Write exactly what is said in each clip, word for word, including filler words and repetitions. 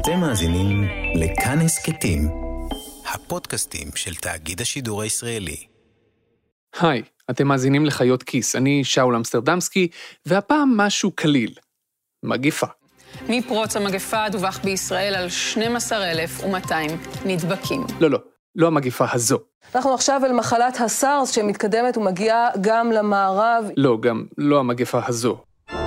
אתם מאזינים לכאן הסכתים, הפודקאסטים של תאגיד השידור הישראלי. היי, אתם מאזינים לחיות כיס, אני שאול אמסטרדמסקי, והפעם משהו קליל, מגפה. מפרוץ המגפה דווח בישראל על שנים עשר אלף ומאתיים נדבקים. לא, לא, לא המגפה הזו. אנחנו עכשיו אל מחלת הסארס שמתקדמת ומגיעה גם למערב. לא, גם לא המגפה הזו.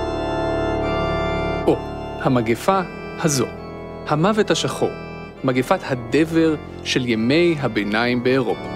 או, המגפה הזו. המוות השחור. מגפת הדבר של ימי הביניים באירופה.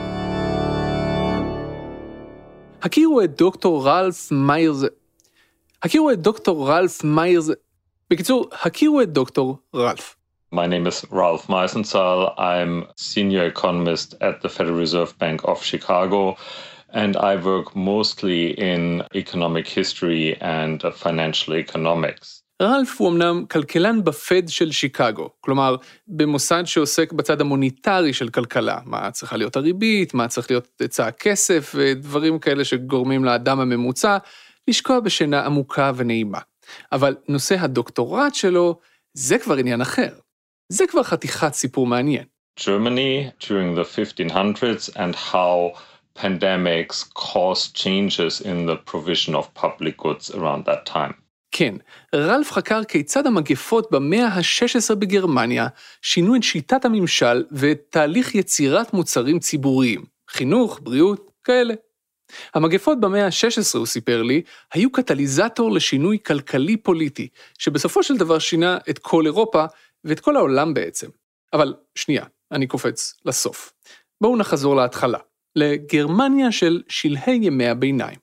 הכירו את דוקטור רלף מיירס... הכירו את דוקטור רלף מיירס... בקיצור, הכירו את דוקטור רלף. My name is Ralph Meisenzahl. I'm senior economist at the Federal Reserve Bank of Chicago, and I work mostly in economic history and financial economics. רלף הוא אמנם כלכלן בפד של שיקגו, כלומר, במוסד שעוסק בצד המוניטרי של כלכלה, מה צריכה להיות הריבית, מה צריך להיות היצע הכסף, ודברים כאלה שגורמים לאדם הממוצע לשקוע בשינה עמוקה ונעימה. אבל נושא הדוקטורט שלו, זה כבר עניין אחר. זה כבר חתיכת סיפור מעניין. Germany during the fifteen hundreds and how pandemics caused changes in the provision of public goods around that time. כן, רלף חקר כיצד המגפות במאה ה-שש עשרה בגרמניה שינו את שיטת הממשל ואת תהליך יצירת מוצרים ציבוריים, חינוך, בריאות, כאלה. המגפות במאה ה-שש עשרה, הוא סיפר לי, היו קטליזטור לשינוי כלכלי-פוליטי, שבסופו של דבר שינה את כל אירופה ואת כל העולם בעצם. אבל שנייה, אני קופץ לסוף. בואו נחזור להתחלה, לגרמניה של שלהי ימי הביניים.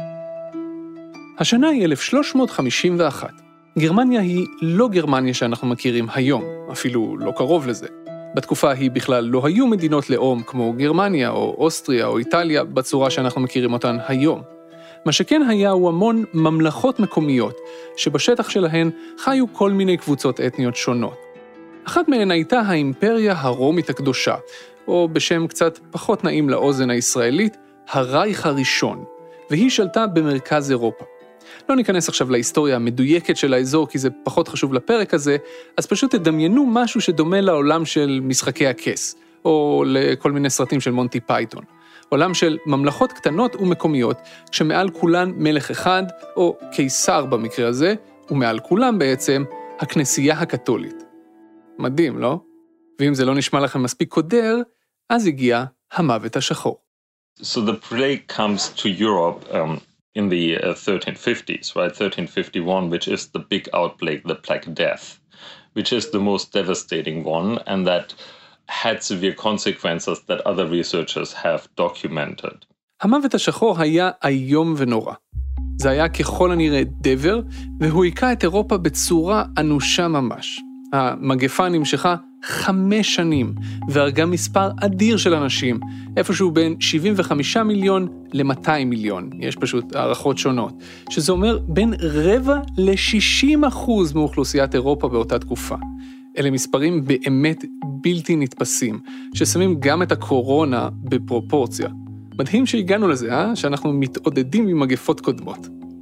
השנה היא אלף שלוש מאות חמישים ואחת. גרמניה היא לא גרמניה שאנחנו מכירים היום, אפילו לא קרוב לזה. בתקופה היא בכלל לא היו מדינות לאום כמו גרמניה או אוסטריה או איטליה בצורה שאנחנו מכירים אותן היום. מה שכן היה הוא המון ממלכות מקומיות, שבשטח שלהן חיו כל מיני קבוצות אתניות שונות. אחת מהן הייתה האימפריה הרומית הקדושה, או בשם קצת פחות נעים לאוזן הישראלית, הרייך הראשון, והיא שלטה במרכז אירופה. לא ניכנס עכשיו להיסטוריה המדויקת של האזור, כי זה פחות חשוב לפרק הזה, אז פשוט תדמיינו משהו שדומה לעולם של משחקי הכס, או לכל מיני סרטים של מונטי פייתון. עולם של ממלכות קטנות ומקומיות, שמעל כולן מלך אחד, או קיסר במקרה הזה, ומעל כולם בעצם, הכנסייה הקתולית. מדהים, לא? ואם זה לא נשמע לכם מספיק קודר, אז הגיע המוות השחור. So the plague comes to Europe um, in the uh, thirteen fifties, right? thirteen fifty-one, which is the big outbreak, the Black Death, which is the most devastating one, and that had severe consequences that other researchers have documented. המוות השחור היה איום ונורא. זה היה ככל הנראה דבר, והוא היכה את אירופה בצורה אנושה ממש. המגפה נמשכה חמש שנים, והרגה מספר אדיר של אנשים, איפשהו בין שבעים וחמישה מיליון ל-מאתיים מיליון, יש פשוט הערכות שונות, שזה אומר בין רבע ל-שישים אחוז מאוכלוסיית אירופה באותה תקופה. אלה מספרים באמת בלתי נתפסים, ששמים גם את הקורונה בפרופורציה. מדהים שהגענו לזה, אה? שאנחנו מתעודדים ממגפות קודמות.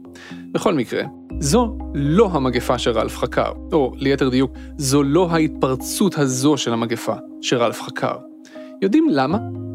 בכל מקרה, זו לא המגפה שרלף חקר, או ליתר דיוק, זו לא ההתפרצות הזו של המגפה שרלף חקר. יודעים למה?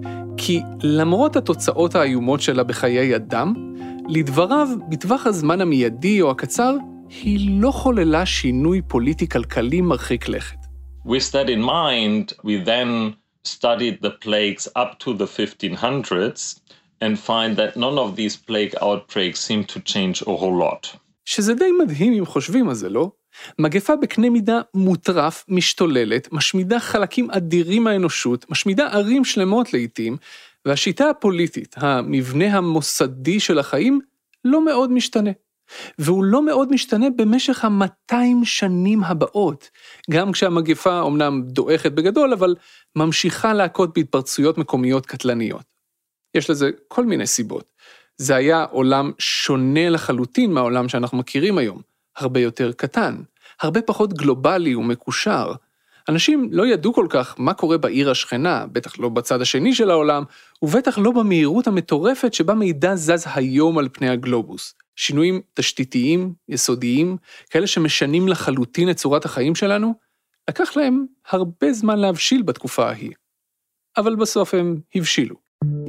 כי למרות התוצאות האיומות שלה בחיי אדם, לדבריו, בטווח הזמן המיידי או הקצר, היא לא חוללה שינוי פוליטי-כלכלי מרחיק לכת. With that in mind, we then studied the plagues up to the fifteen hundreds, and find that none of these plague outbreaks seem to change a whole lot. שזה די מדהים אם חושבים על זה, לא? מגפה בקנה מידה מוטרף, משתוללת, משמידה חלקים אדירים מהאנושות, משמידה ערים שלמות לעתים, והשיטה הפוליטית, המבנה המוסדי של החיים, לא מאוד משתנה. והוא לא מאוד משתנה במשך ה-מאתיים שנים הבאות, גם כשהמגפה אומנם דועכת בגדול, אבל ממשיכה להכות בהתפרצויות מקומיות קטלניות. יש לזה כל מיני סיבות. זה היה עולם שונה לחלוטין מהעולם שאנחנו מכירים היום, הרבה יותר קטן, הרבה פחות גלובלי ומקושר. אנשים לא ידעו כל כך מה קורה בעיר השכנה, בטח לא בצד השני של העולם, ובטח לא במהירות המטורפת שבה מידע זז היום על פני הגלובוס. שינויים תשתיתיים, יסודיים, כאלה שמשנים לחלוטין את צורת החיים שלנו, לקח להם הרבה זמן להבשיל בתקופה ההיא, אבל בסוף הם הבשילו.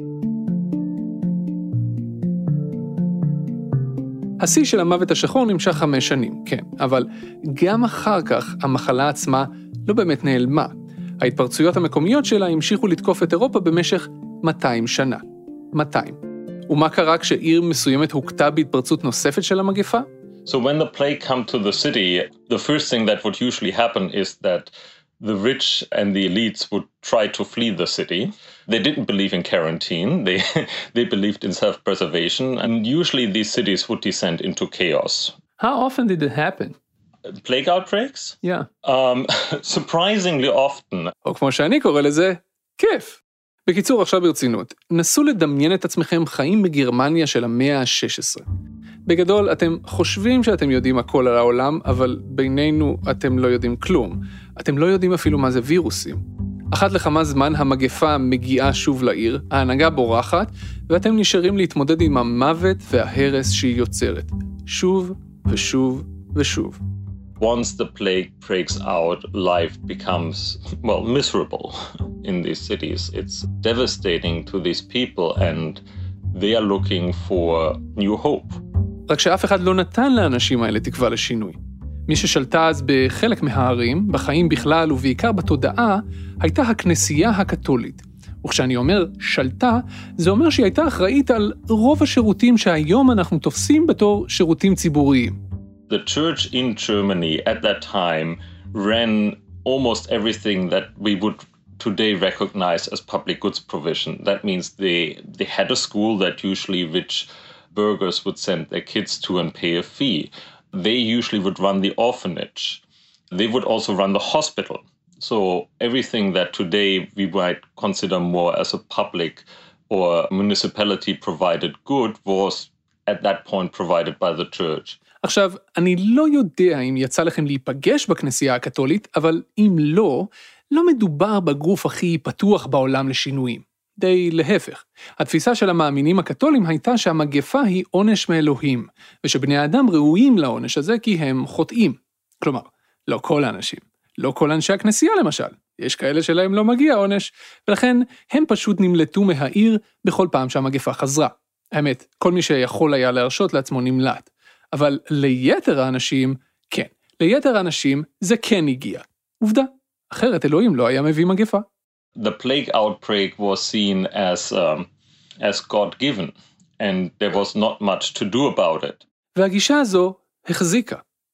השיא של המוות השחור נמשך חמש שנים, כן, אבל גם אחר כך המחלה עצמה לא באמת נעלמה. ההתפרצויות המקומיות שלה המשיכו לתקוף את אירופה במשך מאתיים שנה. מאתיים. ומה קרה כשעיר מסוימת הוקטה בהתפרצות נוספת של המגפה? So when the plague came to the city, the first thing that would usually happen is that the rich and the elites would try to flee the city. They didn't believe in quarantine. They they believed in self-preservation, and usually these cities would descend into chaos. How often did it happen? Plague outbreaks? Yeah. Um, surprisingly often. או כמו שאני קורא לזה, כיף. בקיצור, עכשיו ברצינות, נסו לדמיין את עצמכם חיים בגרמניה של המאה ה-שש עשרה. בגדול, אתם חושבים שאתם יודעים הכל על העולם, אבל בינינו אתם לא יודעים כלום. אתם לא יודעים אפילו מה זה וירוסים. אחת לכמה זמן המגפה מגיעה שוב לעיר, ההנהגה בורחת, ואתם נשארים להתמודד עם המוות וההרס שהיא יוצרת. שוב ושוב ושוב. Once the plague breaks out, life becomes, well, miserable in these cities. It's devastating to these people and they are looking for new hope. רק שאף אחד לא נתן לאנשים האלה תקווה לשינוי. מי ששלטה אז בחלק מהערים, בחיים בכלל ובעיקר בתודעה, הייתה הכנסייה הקתולית. וכשאני אומר שלטה, זה אומר שהיא הייתה אחראית על רוב השירותים שהיום אנחנו תופסים בתור שירותים ציבוריים. The church in Germany at that time ran almost everything that we would today recognize as public goods provision. That means they, they had a school that usually rich burghers would send their kids to and pay a fee. They usually would run the orphanage. They would also run the hospital. So everything that today we might consider more as a public or municipality provided good was at that point provided by the church. עכשיו, אני לא יודע אם יצא לכם להיפגש בכנסייה הקתולית, אבל אם לא, לא מדובר בגוף הכי פתוח בעולם לשינויים. די להפך. התפיסה של המאמינים הקתולים הייתה שהמגפה היא עונש מאלוהים, ושבני האדם ראויים לעונש הזה כי הם חוטאים. כלומר, לא כל האנשים, לא כל אנשי הכנסייה למשל. יש כאלה שלהם לא מגיע עונש, ולכן הם פשוט נמלטו מהעיר בכל פעם שהמגפה חזרה. האמת, כל מי שיכול היה להרשות לעצמו נמלט. אבל ליתר האנשים, כן, ליתר האנשים זה כן הגיע. עובדה, אחרת אלוהים לא היה מביא מגפה. The plague outbreak was seen as, um, as God-given, and there was not much to do about it. והגישה הזו החזיקה,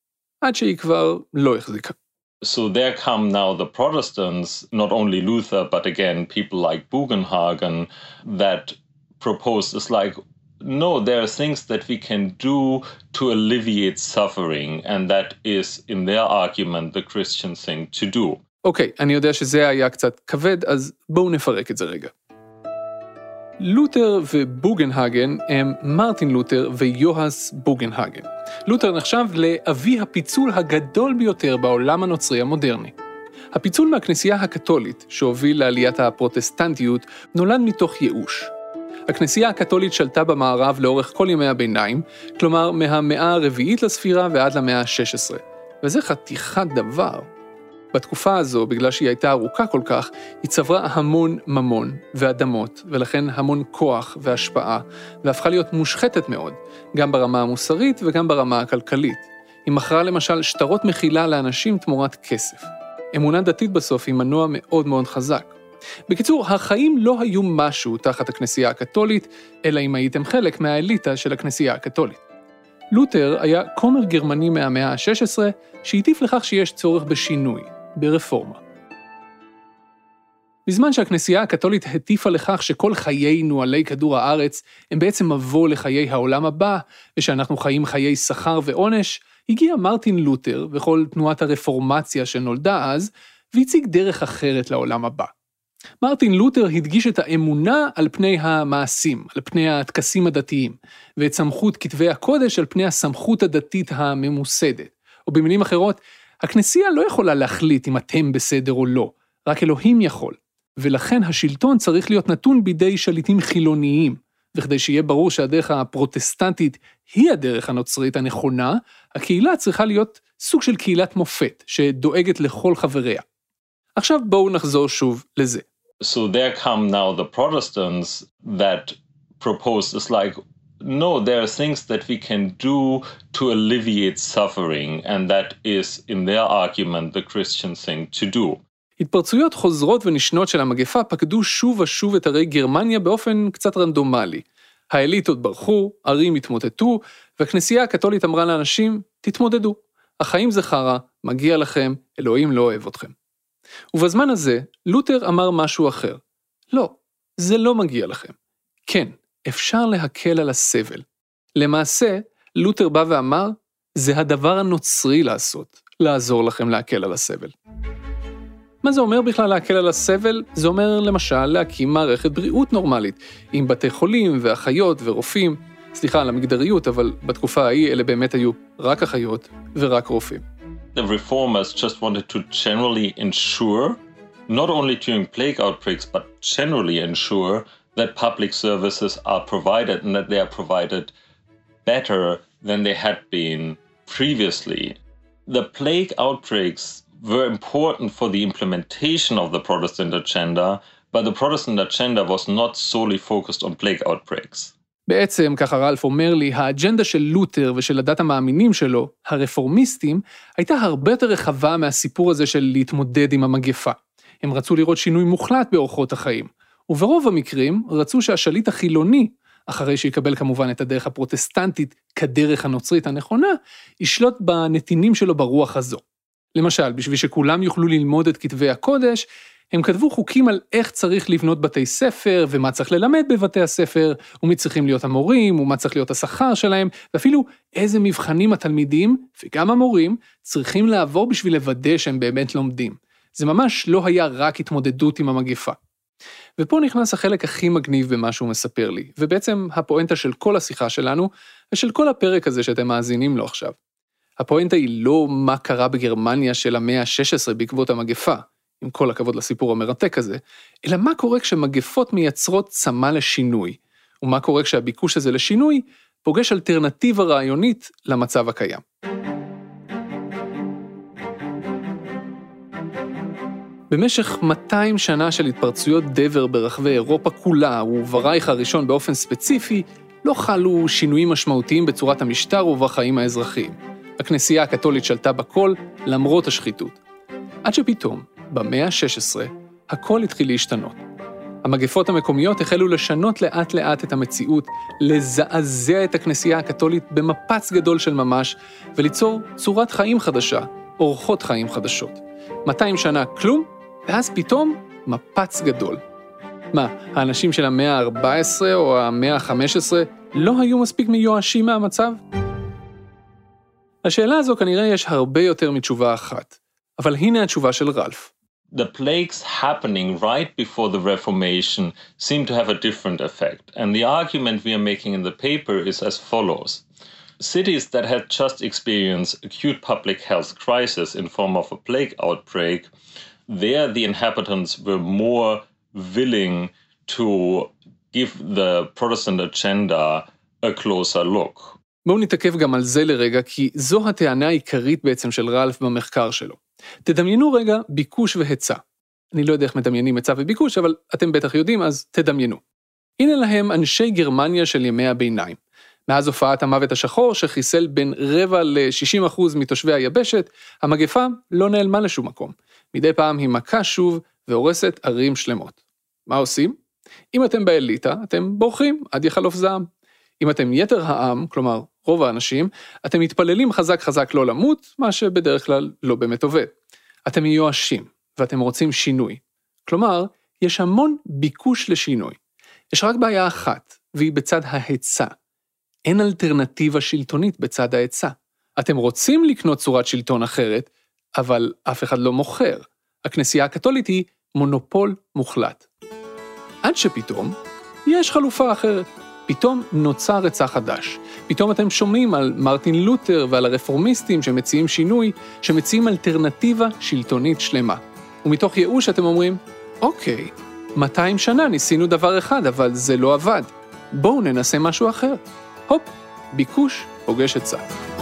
עד שהיא כבר לא החזיקה. So there come now the Protestants, not only Luther, but again people like Bugenhagen, that proposed this like, no, there are things that we can do to alleviate suffering, and that is, in their argument, the Christian thing to do. אוקיי, okay, אני יודע שזה היה קצת כבד, אז בואו נפרק את זה רגע. לותר ובוגנהגן הם מרטין לותר ויוהס בוגנהגן. לותר נחשב לאבי הפיצול הגדול ביותר בעולם הנוצרי המודרני. הפיצול מהכנסייה הקתולית, שהוביל לעליית הפרוטסטנטיות, נולד מתוך ייאוש. הכנסייה הקתולית שלטה במערב לאורך כל ימי הביניים, כלומר מהמאה הרביעית לספירה ועד למאה ה-שש עשרה. וזה חתיכת דבר. בתקופה הזו, בגלל שהיא הייתה ארוכה כל כך, היא צברה המון ממון ואדמות, ולכן המון כוח והשפעה, והפכה להיות מושחתת מאוד, גם ברמה המוסרית וגם ברמה הכלכלית. היא מכרה למשל שטרות מחילה לאנשים תמורת כסף. אמונה דתית בסוף היא מנוע מאוד מאוד חזק. בקיצור, החיים לא היו משהו תחת הכנסייה הקתולית, אלא אם הייתם חלק מהאליטה של הכנסייה הקתולית. לותר היה כומר גרמני מהמאה ה-שש עשרה, שהטיף לכך שיש צורך בשינוי, ברפורמה. בזמן שהכנסייה הקתולית הטיפה לכך שכל חיינו עלי כדור הארץ הם בעצם מבוא לחיי העולם הבא, ושאנחנו חיים חיי שכר ועונש, הגיע מרטין לותר וכל תנועת הרפורמציה שנולדה אז, והציג דרך אחרת לעולם הבא. מרטין לותר הדגיש את האמונה על פני המעשים, על פני הטקסים הדתיים, ואת סמכות כתבי הקודש על פני הסמכות הדתית הממוסדת. או במילים אחרות, הכנסייה לא יכולה להחליט אם אתם בסדר או לא, רק אלוהים יכול. ולכן השלטון צריך להיות נתון בידי שליטים חילוניים, וכדי שיהיה ברור שהדרך הפרוטסטנטית היא הדרך הנוצרית הנכונה, הקהילה צריכה להיות סוג של קהילת מופת, שדואגת לכל חבריה. עכשיו בואו נחזור שוב לזה. So there come now the Protestants that propose is like, no, there are things that we can do to alleviate suffering, and that is, in their argument, the Christian thing to do. התפרצויות חוזרות ונשנות של המגפה פקדו שוב ושוב את ערי גרמניה באופן קצת רנדומלי. האליטות ברחו, ערים התמוטטו, והכנסייה הקתולית אמרה לאנשים, תתמודדו. החיים זה חרא, מגיע לכם, אלוהים לא אוהב אתכם. ובזמן הזה, לותר אמר משהו אחר. לא, זה לא מגיע לכם. כן, אפשר להקל על הסבל. למעשה, לותר בא ואמר, זה הדבר הנוצרי לעשות, לעזור לכם להקל על הסבל. מה זה אומר בכלל להקל על הסבל? זה אומר למשל להקים מערכת בריאות נורמלית, עם בתי חולים ואחיות ורופאים. סליחה על המגדריות, אבל בתקופה ההיא אלה באמת היו רק אחיות ורק רופאים. The reformers just wanted to generally ensure, not only during plague outbreaks, but generally ensure that public services are provided and that they are provided better than they had been previously. The plague outbreaks were important for the implementation of the Protestant agenda, but the Protestant agenda was not solely focused on plague outbreaks. בעצם, ככה רלף אומר לי, האג'נדה של לותר ושל הדת המאמינים שלו, הרפורמיסטים, הייתה הרבה יותר רחבה מהסיפור הזה של להתמודד עם המגפה. הם רצו לראות שינוי מוחלט באורחות החיים, וברוב המקרים רצו שהשליט החילוני, אחרי שיקבל כמובן את הדרך הפרוטסטנטית כדרך הנוצרית הנכונה, ישלוט בנתינים שלו ברוח הזו. למשל, בשביל שכולם יוכלו ללמוד את כתבי הקודש, הם כתבו חוקים על איך צריך לבנות בתי ספר, ומה צריך ללמד בבתי הספר, ומי צריכים להיות המורים, ומה צריך להיות השכר שלהם, ואפילו איזה מבחנים התלמידים, וגם המורים, צריכים לעבור בשביל לוודא שהם באמת לומדים. זה ממש לא היה רק התמודדות עם המגפה. ופה נכנס החלק הכי מגניב במה שהוא מספר לי, ובעצם הפואנטה של כל השיחה שלנו, ושל כל הפרק הזה שאתם מאזינים לו עכשיו. הפואנטה היא לא מה קרה בגרמניה של המאה ה-שש עשרה בעקבות המגפה, עם כל הכבוד לסיפור המרתק הזה, אלא מה קורה כשמגפות מייצרות צמא לשינוי, ומה קורה כשהביקוש הזה לשינוי פוגש אלטרנטיבה רעיונית למצב הקיים. במשך מאתיים שנה של התפרצויות דבר ברחבי אירופה כולה, וברייך הראשון באופן ספציפי, לא חלו שינויים משמעותיים בצורת המשטר ובחיים האזרחיים. הכנסייה הקתולית שלטה בכל למרות השחיתות. עד שפתאום, במאה ה-שש עשרה, הכל התחיל להשתנות. המגפות המקומיות החלו לשנות לאט לאט את המציאות, לזעזע את הכנסייה הקתולית במפץ גדול של ממש, וליצור צורת חיים חדשה, אורחות חיים חדשות. מאתיים שנה כלום, ואז פתאום מפץ גדול. מה, האנשים של המאה ה-ארבע עשרה או המאה ה-חמש עשרה לא היו מספיק מיואשים מהמצב? לשאלה הזו כנראה יש הרבה יותר מתשובה אחת, אבל הנה התשובה של רלף. The plagues happening right before the Reformation seem to have a different effect, and the argument we are making in the paper is as follows. Cities that had just experienced acute public health crisis in form of a plague outbreak, there the inhabitants were more willing to give the Protestant agenda a closer look. בואו נתעכב גם על זה לרגע, כי זו הטענה העיקרית בעצם של רלף במחקר שלו. תדמיינו רגע ביקוש והיצע. אני לא יודע איך מדמיינים היצע וביקוש, אבל אתם בטח יודעים, אז תדמיינו. הנה להם אנשי גרמניה של ימי הביניים. מאז הופעת המוות השחור שחיסל בין רבע ל-שישים אחוז מתושבי היבשת, המגפה לא נעלמה לשום מקום. מדי פעם היא מכה שוב והורסת ערים שלמות. מה עושים? אם אתם באליטה, אתם בורחים עד יחלוף זעם. אם אתם יתר העם, כלומר רוב האנשים, אתם מתפללים חזק חזק לא למות, מה שבדרך כלל לא באמת עובד. אתם מיואשים, ואתם רוצים שינוי. כלומר, יש המון ביקוש לשינוי. יש רק בעיה אחת, והיא בצד ההיצע. אין אלטרנטיבה שלטונית בצד ההיצע. אתם רוצים לקנות צורת שלטון אחרת, אבל אף אחד לא מוכר. הכנסייה הקתולית היא מונופול מוחלט. עד שפתאום יש חלופה אחרת. פתאום נוצר היצע חדש. פתאום אתם שומעים על מרטין לותר ועל הרפורמיסטים שמציעים שינוי, שמציעים אלטרנטיבה שלטונית שלמה. ומתוך ייאוש אתם אומרים, אוקיי, מאתיים שנה ניסינו דבר אחד, אבל זה לא עבד. בואו ננסה משהו אחר. הופ, ביקוש פוגש היצע.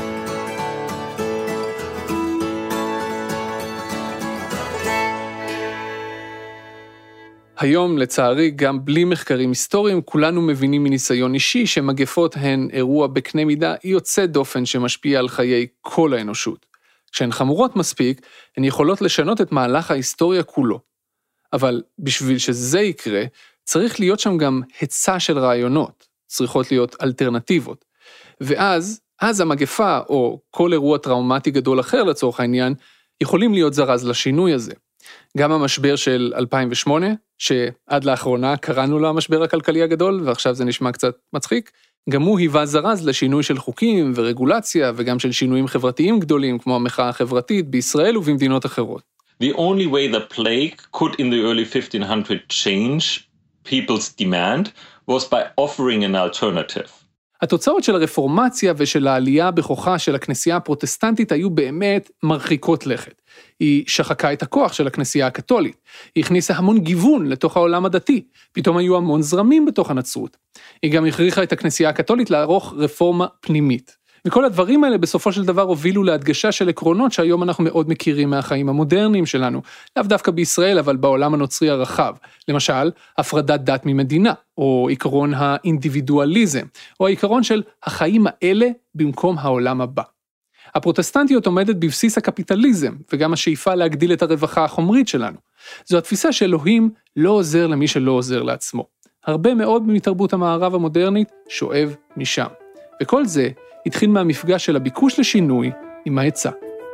היום, לצערי, גם בלי מחקרים היסטוריים, כולנו מבינים מניסיון אישי שמגפות הן אירוע בקנה מידה יוצא דופן שמשפיע על חיי כל האנושות. כשהן חמורות מספיק, הן יכולות לשנות את מהלך ההיסטוריה כולו. אבל בשביל שזה יקרה, צריך להיות שם גם היצע של רעיונות, צריכות להיות אלטרנטיבות. ואז, אז המגפה, או כל אירוע טראומטי גדול אחר לצורך העניין, יכולים להיות זרז לשינוי הזה. גם המשבר של אלפיים ושמונה, שעד לאחרונה קראנו לו המשבר הכלכלי הגדול, ועכשיו זה נשמע קצת מצחיק, גם הוא היווה זרז לשינוי של חוקים ורגולציה, וגם של שינויים חברתיים גדולים, כמו המחאה החברתית בישראל ובמדינות אחרות. The only way the plague could in the early fifteen hundreds change people's demand was by offering an alternative. התוצאות של הרפורמציה ושל העלייה בכוחה של הכנסייה הפרוטסטנטית היו באמת מרחיקות לכת. היא שחקה את הכוח של הכנסייה הקתולית, היא הכניסה המון גיוון לתוך העולם הדתי, פתאום היו המון זרמים בתוך הנצרות. היא גם הכריחה את הכנסייה הקתולית לערוך רפורמה פנימית. וכל הדברים האלה בסופו של דבר הובילו להדגשה של עקרונות שהיום אנחנו מאוד מכירים מהחיים המודרניים שלנו, לאו דווקא בישראל אבל בעולם הנוצרי הרחב, למשל הפרדת דת ממדינה, או עקרון האינדיבידואליזם, או העיקרון של החיים האלה במקום העולם הבא. הפרוטסטנטיות עומדת בבסיס הקפיטליזם, וגם השאיפה להגדיל את הרווחה החומרית שלנו. זו התפיסה שאלוהים לא עוזר למי שלא עוזר לעצמו. הרבה מאוד מתרבות המערב המודרנית שואב משם. וכל זה התחיל מהמפגש של הביקוש לשינוי עם ההיצע.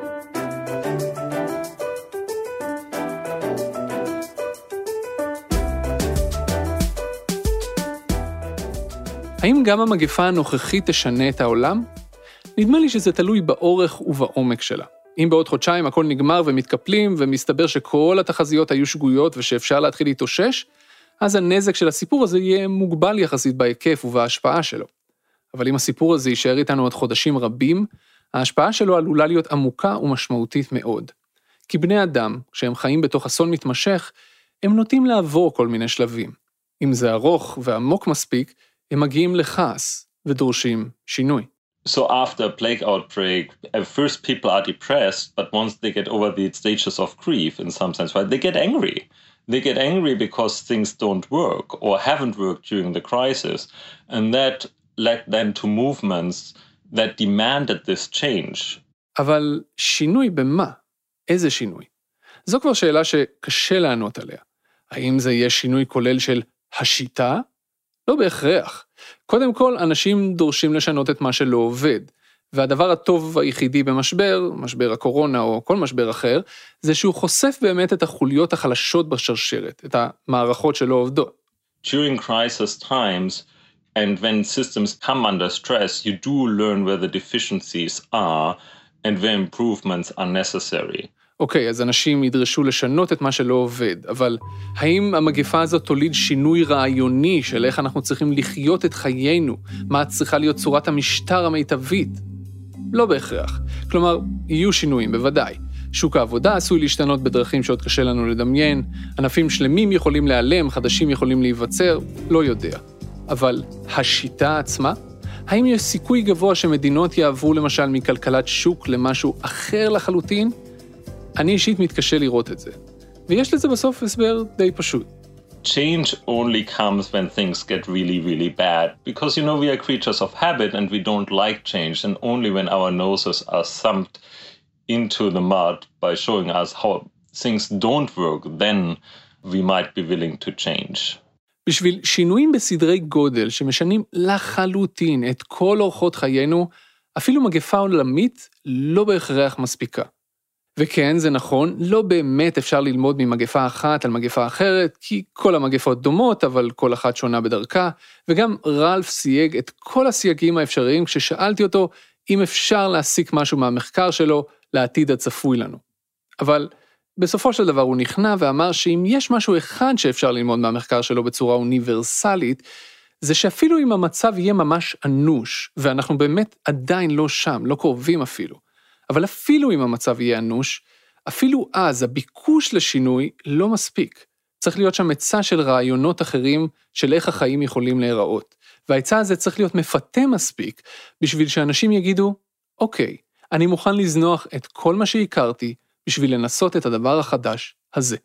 האם גם המגפה הנוכחית תשנה את העולם? נדמה לי שזה תלוי באורך ובעומק שלה. אם בעוד חודשיים הכל נגמר ומתקפלים ומסתבר שכל התחזיות היו שגויות ושאפשר להתחיל להתאושש, אז הנזק של הסיפור הזה יהיה מוגבל יחסית בהיקף ובהשפעה שלו. אבל אם הסיפור הזה יישאר איתנו עוד חודשים רבים, ההשפעה שלו עלולה להיות עמוקה ומשמעותית מאוד. כי בני אדם, כשהם חיים בתוך אסון מתמשך, הם נוטים לעבור כל מיני שלבים. אם זה ארוך ועמוק מספיק, הם מגיעים לכעס ודורשים שינוי. So after a plague outbreak, at first people are depressed, but once they get over the stages of grief in some sense, right, they get angry. They get angry because things don't work or haven't worked during the crisis, and that led then to movements that demanded this change. אבל שינוי במה? איזה שינוי? זו כבר שאלה שקשה לענות עליה. האם זה יהיה שינוי כולל של השיטה? לא בהכרח. קודם כל, אנשים דורשים לשנות את מה שלא עובד, והדבר הטוב היחידי במשבר, משבר הקורונה או כל משבר אחר, זה שהוא חושף באמת את החוליות החלשות בשרשרת, את המערכות שלא עובדות. During crisis times, and when systems come under stress, you do learn where the deficiencies are and where improvements are necessary. אוקיי, אז אנשים ידרשו לשנות את מה שלא עובד, אבל האם המגפה הזאת תוליד שינוי רעיוני של איך אנחנו צריכים לחיות את חיינו? מה צריכה להיות צורת המשטר המיטבית? לא בהכרח. כלומר, יהיו שינויים, בוודאי. שוק העבודה עשוי להשתנות בדרכים שעוד קשה לנו לדמיין, ענפים שלמים יכולים להיעלם, חדשים יכולים להיווצר, לא יודע. אבל השיטה עצמה? האם יש סיכוי גבוה שמדינות יעברו למשל מכלכלת שוק למשהו אחר לחלוטין? אני אישית מתקשה לראות את זה. ויש לזה בסוף הסבר די פשוט. Change only comes when things get really, really bad. Because, you know, we are creatures of habit and we don't like change. And only when our noses are thumped into the mud by showing us how things don't work, then we might be willing to change. בשביל שינויים בסדרי גודל שמשנים לחלוטין את כל אורחות חיינו, אפילו מגפה עולמית לא בהכרח מספיקה. וכן, זה נכון, לא באמת אפשר ללמוד ממגפה אחת על מגפה אחרת, כי כל המגפות דומות, אבל כל אחת שונה בדרכה, וגם רלף סייג את כל הסייגים האפשריים כששאלתי אותו אם אפשר להסיק משהו מהמחקר שלו לעתיד הצפוי לנו. אבל בסופו של דבר הוא נכנע ואמר שאם יש משהו אחד שאפשר ללמוד מהמחקר שלו בצורה אוניברסלית, זה שאפילו אם המצב יהיה ממש אנוש, ואנחנו באמת עדיין לא שם, לא קרובים אפילו, אבל אפילו אם המצב יהיה אנוש, אפילו אז הביקוש לשינוי לא מספיק. צריך להיות שם היצע של רעיונות אחרים של איך החיים יכולים להיראות. וההיצע הזה צריך להיות מפתה מספיק, בשביל שאנשים יגידו, אוקיי, אני מוכן לזנוח את כל מה שהכרתי, בשביל לנסות את הדבר החדש הזה.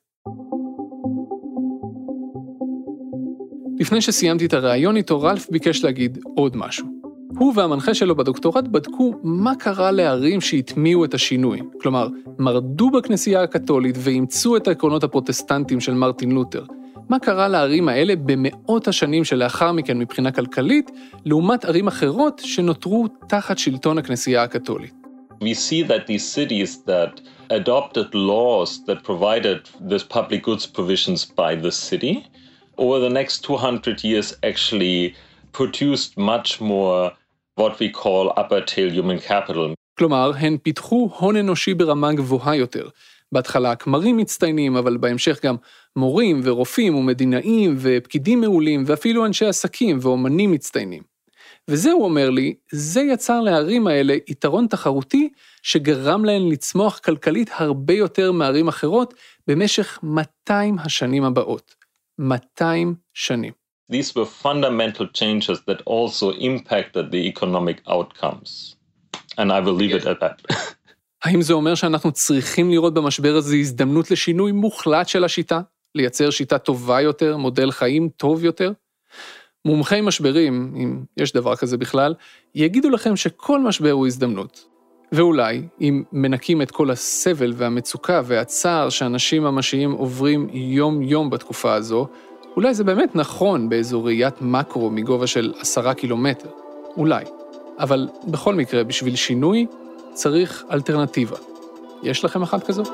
לפני שסיימתי את הראיון איתו, רלף ביקש להגיד עוד משהו. הוא והמנחה שלו בדוקטורט בדקו מה קרה לערים שהטמיעו את השינוי, כלומר, מרדו בכנסייה הקתולית ואימצו את העקרונות הפרוטסטנטיים של מרטין לותר. מה קרה לערים האלה במאות השנים שלאחר מכן מבחינה כלכלית, לעומת ערים אחרות שנותרו תחת שלטון הכנסייה הקתולית. We see that these cities that adopted laws that provided these public goods provisions by the city, over the next two hundred years actually produced much more what we call upper tail human capital. כלומר, הן פיתחו הון אנושי ברמה גבוהה יותר. בהתחלה כמרים מצטיינים, אבל בהמשך גם מורים ורופאים ומדינאים ופקידים מעולים, ואפילו אנשי עסקים ואומנים מצטיינים. וזה, הוא אומר לי, זה יצר לערים האלה יתרון תחרותי שגרם להן לצמוח כלכלית הרבה יותר מערים אחרות במשך מאתיים השנים הבאות. מאתיים שנים. These were fundamental changes that also impacted the economic outcomes. And I will leave it at that. האם זה אומר שאנחנו צריכים לראות במשבר הזה הזדמנות לשינוי מוחלט של השיטה? לייצר שיטה טובה יותר, מודל חיים טוב יותר? מומחי משברים, אם יש דבר כזה בכלל, יגידו לכם שכל משבר הוא הזדמנות. ואולי, אם מנקים את כל הסבל והמצוקה והצער שאנשים ממשיים עוברים יום-יום בתקופה הזו, אולי זה באמת נכון באיזו ראיית מקרו מגובה של עשרה קילומטר. אולי. אבל בכל מקרה, בשביל שינוי, צריך אלטרנטיבה. יש לכם אחת כזו?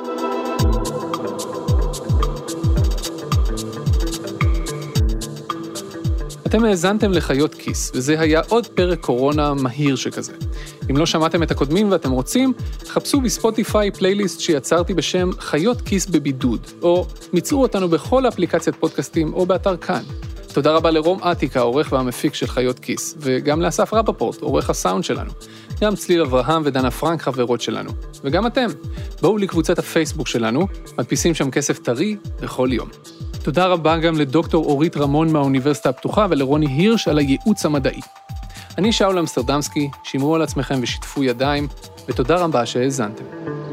אתם האזנתם לחיות כיס, וזה היה עוד פרק קורונה מהיר שכזה. אם לא שמעתם את הקודמים ואתם רוצים, חפשו בספוטיפיי פלייליסט שיצרתי בשם חיות כיס בבידוד, או מצאו אותנו בכל אפליקציית פודקאסטים או באתר כאן. תודה רבה לרום עתיקה, העורך והמפיק של חיות כיס, וגם לאסף רפפורט, עורך הסאונד שלנו. גם צליל אברהם ודנה פרנק חברות שלנו. וגם אתם, בואו לקבוצת הפייסבוק שלנו, מדפיסים שם כסף טרי בכל יום. תודה רבה גם לדוקטור אורית רמון מהאוניברסיטה הפתוחה ולרוני הירש על הייעוץ המדעי. אני שאול אמסטרדמסקי, שמרו על עצמכם ושיתפו ידיים, ותודה רבה שהאזנתם.